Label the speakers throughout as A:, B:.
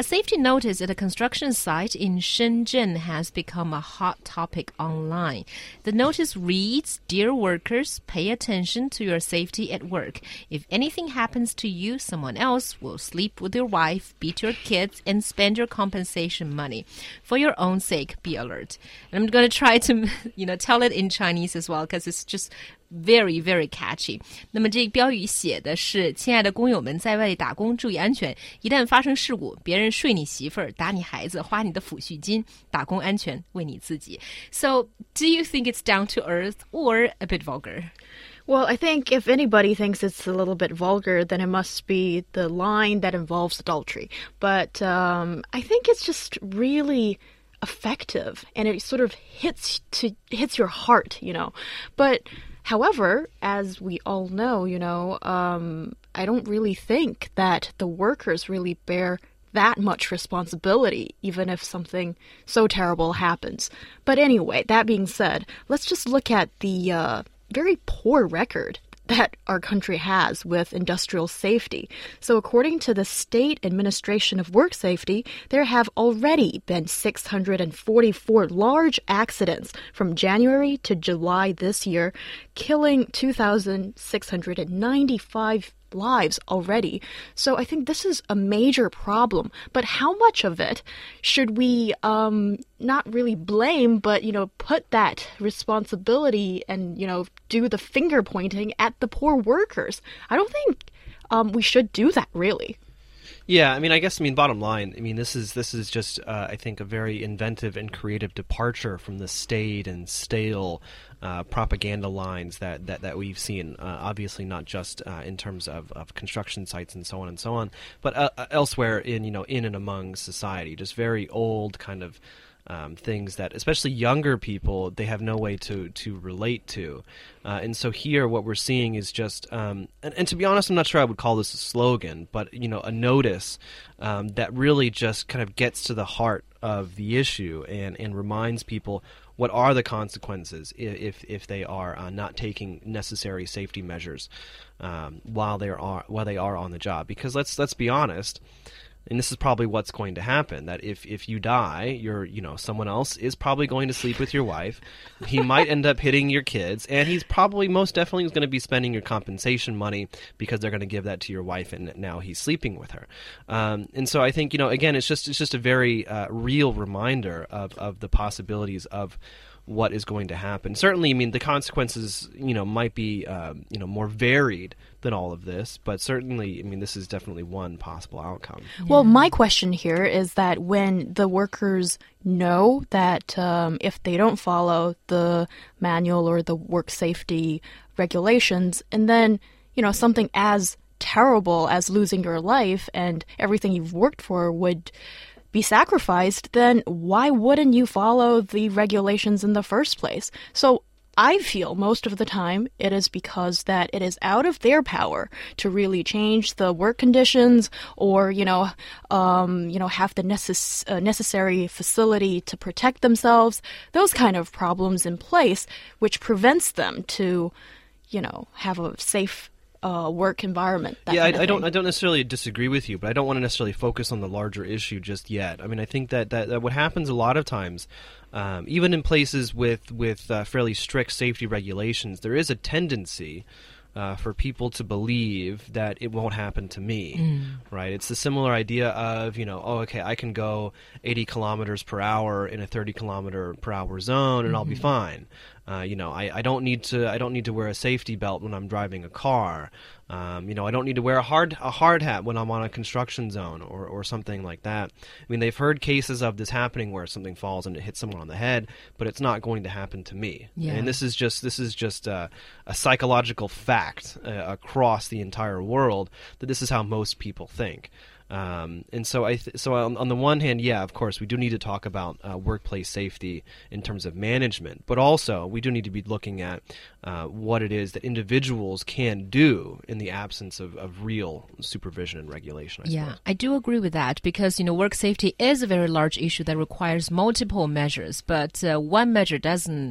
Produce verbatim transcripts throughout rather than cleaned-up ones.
A: A safety notice at a construction site in Shenzhen has become a hot topic online. The notice reads, "Dear workers, pay attention to your safety at work. If anything happens to you, someone else will sleep with your wife, beat your kids, and spend your compensation money. For your own sake, be alert." And I'm going to try to, you know, tell it in Chinese as well, because it's just very, very catchy. 那么这个标语写的是，亲爱的工友们，在外打工注意安全，一旦发生事故，别人睡你媳妇儿，打你孩子，花你的抚恤金，打工安全为你自己。So, do you think it's down to earth or a bit vulgar?
B: Well, I think if anybody thinks it's a little bit vulgar, then it must be the line that involves adultery. But um, I think it's just really effective, and it sort of hits to hits your heart, you know. But however, as we all know, you know, um, I don't really think that the workers really bear that much responsibility, even if something so terrible happens. But anyway, that being said, let's just look at the uh, very poor record that our country has with industrial safety. So according to the State Administration of Work Safety, there have already been six hundred forty-four large accidents from January to July this year, killing two thousand six hundred ninety-five lives already. So I think this is a major problem. But how much of it should we um, not really blame, but, you know, put that responsibility and, you know, do the finger pointing at the poor workers? I don't think um, we should do that, really.
C: Yeah, I mean, I guess, I mean, bottom line, I mean, this is this is just, uh, I think, a very inventive and creative departure from the staid and stale uh, propaganda lines that, that, that we've seen, uh, obviously not just uh, in terms of, of construction sites and so on and so on, but uh, elsewhere in, you know, in and among society, just very old kind of Um, things that, especially younger people, they have no way to, to relate to. Uh, and so here what we're seeing is just, um, and, and to be honest, I'm not sure I would call this a slogan, but, you know, a notice um, that really just kind of gets to the heart of the issue and, and reminds people what are the consequences if, if they are uh, not taking necessary safety measures um, while they are while they are on the job. Because let's let's be honest, and this is probably what's going to happen, that if, if you die, you're, you know, someone else is probably going to sleep with your wife. He might end up hitting your kids, and he's probably most definitely going to be spending your compensation money because they're going to give that to your wife, and now he's sleeping with her. Um, and so I think, you know, again, it's just it's just a very uh, real reminder of, of the possibilities of what is going to happen. Certainly, I mean, the consequences, you know, might be, um, you know, more varied than all of this, but certainly, I mean, this is definitely one possible outcome.
B: Yeah. Well, my question here is that when the workers know that um, if they don't follow the manual or the work safety regulations, and then, you know, something as terrible as losing your life and everything you've worked for would be sacrificed, then why wouldn't you follow the regulations in the first place? So I feel most of the time it is because that it is out of their power to really change the work conditions or, you know, um, you know, have the necess- uh, necessary facility to protect themselves, those kind of problems in place, which prevents them to, you know, have a safe Uh, work environment. That
C: yeah,
B: kind of
C: I, I don't.
B: thing.
C: I don't necessarily disagree with you, but I don't want to necessarily focus on the larger issue just yet. I mean, I think that that, that what happens a lot of times, um, even in places with with uh, fairly strict safety regulations, there is a tendency uh, for people to believe that it won't happen to me. Mm. Right? It's the similar idea of, you know, oh, okay, I can go eighty kilometers per hour in a thirty kilometer per hour zone, and mm-hmm. I'll be fine. Uh, you know, I, I don't need to I don't need to wear a safety belt when I'm driving a car. Um, you know, I don't need to wear a hard a hard hat when I'm on a construction zone or, or something like that. I mean, they've heard cases of this happening where something falls and it hits someone on the head, but it's not going to happen to me.
A: Yeah.
C: And this is just this is just uh, a psychological fact uh, across the entire world that this is how most people think. Um, and so, I th- so on, on the one hand, yeah, of course, we do need to talk about uh, workplace safety in terms of management, but also we do need to be looking at uh, what it is that individuals can do in the absence of, of real supervision and regulation, I
A: yeah,
C: suppose.
A: I do agree with that because, you know, work safety is a very large issue that requires multiple measures, but uh, one measure doesn't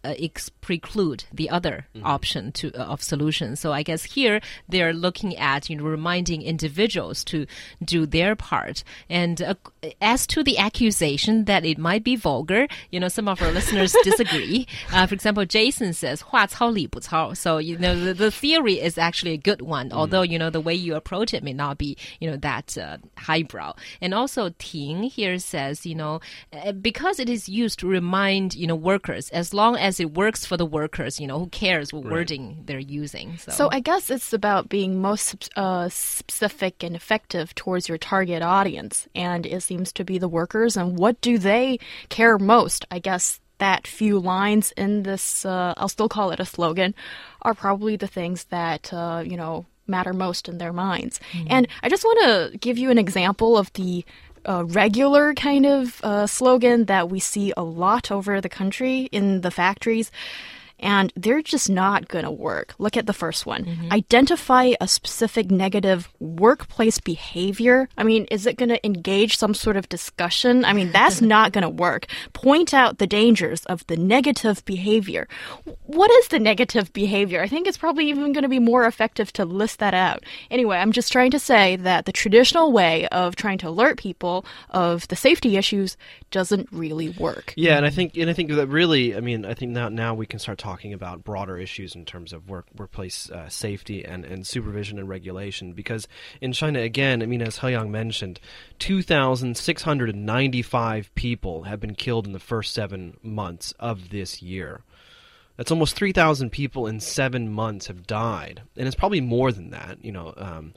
A: uh, ex- preclude the other mm-hmm. option to uh, of solution. So I guess here they're looking at, you know, reminding individuals to do their part. And uh, as to the accusation that it might be vulgar, you know, some of our listeners disagree. Uh, for example, Jason says, 话糙理不糙. So, you know, the, the theory is actually a good one, mm. although, you know, the way you approach it may not be, you know, that uh, highbrow. And also Ting here says, you know, because it is used to remind, you know, workers, as long as it works for the workers, you know, who cares what right. wording they're using. So.
B: so I guess it's about being most uh, specific and effective towards your target audience. And it seems to be the workers. And what do they care most? I guess that few lines in this, uh, I'll still call it a slogan, are probably the things that, uh, you know, matter most in their minds. Mm-hmm. And I just want to give you an example of the uh, regular kind of uh, slogan that we see a lot over the country in the factories. And they're just not going to work. Look at the first one. Mm-hmm. Identify a specific negative workplace behavior. I mean, is it going to engage some sort of discussion? I mean, that's not going to work. Point out the dangers of the negative behavior. What is the negative behavior? I think it's probably even going to be more effective to list that out. Anyway, I'm just trying to say that the traditional way of trying to alert people of the safety issues doesn't really work.
C: Yeah, and I think and I think that really, I mean, I think now now we can start talking talking about broader issues in terms of work workplace uh, safety and, and supervision and regulation. Because in China, again, I mean, as Heyang mentioned, two thousand six hundred ninety-five people have been killed in the first seven months of this year. That's almost three thousand people in seven months have died. And it's probably more than that, you know. Um,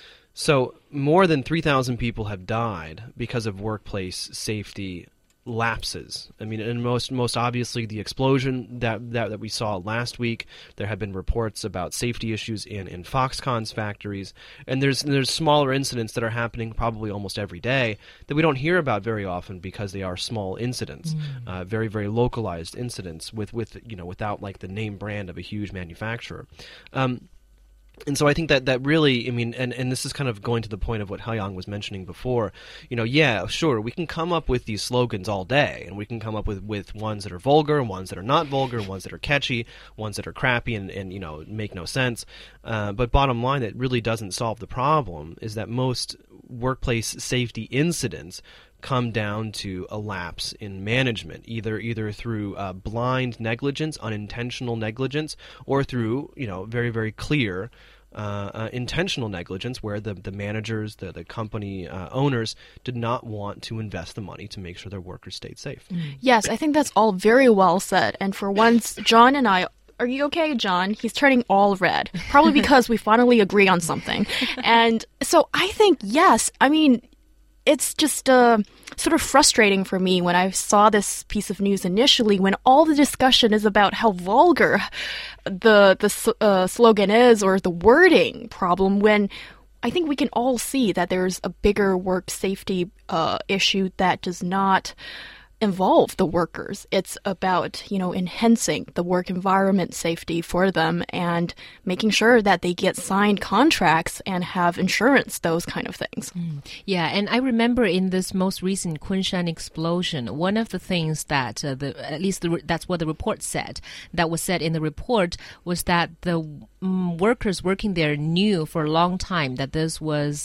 C: so more than three thousand people have died because of workplace safety lapses. I mean, and most most obviously the explosion that, that that we saw last week. There have been reports about safety issues in, in Foxconn's factories, and there's there's smaller incidents that are happening probably almost every day that we don't hear about very often because they are small incidents, mm. uh, very very localized incidents with with you know without like the name brand of a huge manufacturer. Um, And so I think that, that really, I mean, and, and this is kind of going to the point of what Heyang was mentioning before, you know, yeah, sure, we can come up with these slogans all day, and we can come up with, with ones that are vulgar, and ones that are not vulgar, ones that are catchy, ones that are crappy and, and you know, make no sense. Uh, but bottom line, it really doesn't solve the problem, is that most workplace safety incidents come down to a lapse in management, either either through uh, blind negligence, unintentional negligence, or through, you know, very, very clear uh, uh, intentional negligence where the, the managers, the, the company uh, owners did not want to invest the money to make sure their workers stayed safe.
B: Mm. Yes, I think that's all very well said. And for once, John and I Are you okay, John? He's turning all red, probably because we finally agree on something. And so I think, yes, I mean, it's just uh, sort of frustrating for me when I saw this piece of news initially, when all the discussion is about how vulgar the, the uh, slogan is or the wording problem, when I think we can all see that there's a bigger work safety uh, issue that does not involve the workers. It's about, you know, enhancing the work environment safety for them and making sure that they get signed contracts and have insurance, those kind of things.
A: Mm. Yeah, and I remember in this most recent Kunshan explosion, one of the things that, uh, the at least the, that's what the report said, that was said in the report, was that the um, workers working there knew for a long time that this was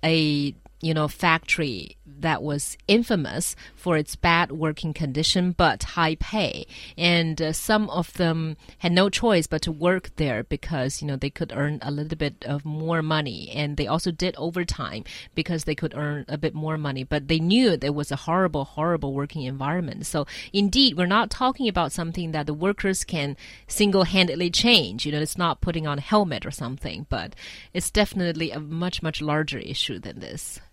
A: a, you know, factory that was infamous for its bad working condition but high pay. And uh, some of them had no choice but to work there because, you know, they could earn a little bit of more money. And they also did overtime because they could earn a bit more money. But they knew there was a horrible, horrible working environment. So indeed, we're not talking about something that the workers can single-handedly change. You know, it's not putting on a helmet or something, but it's definitely a much, much larger issue than this.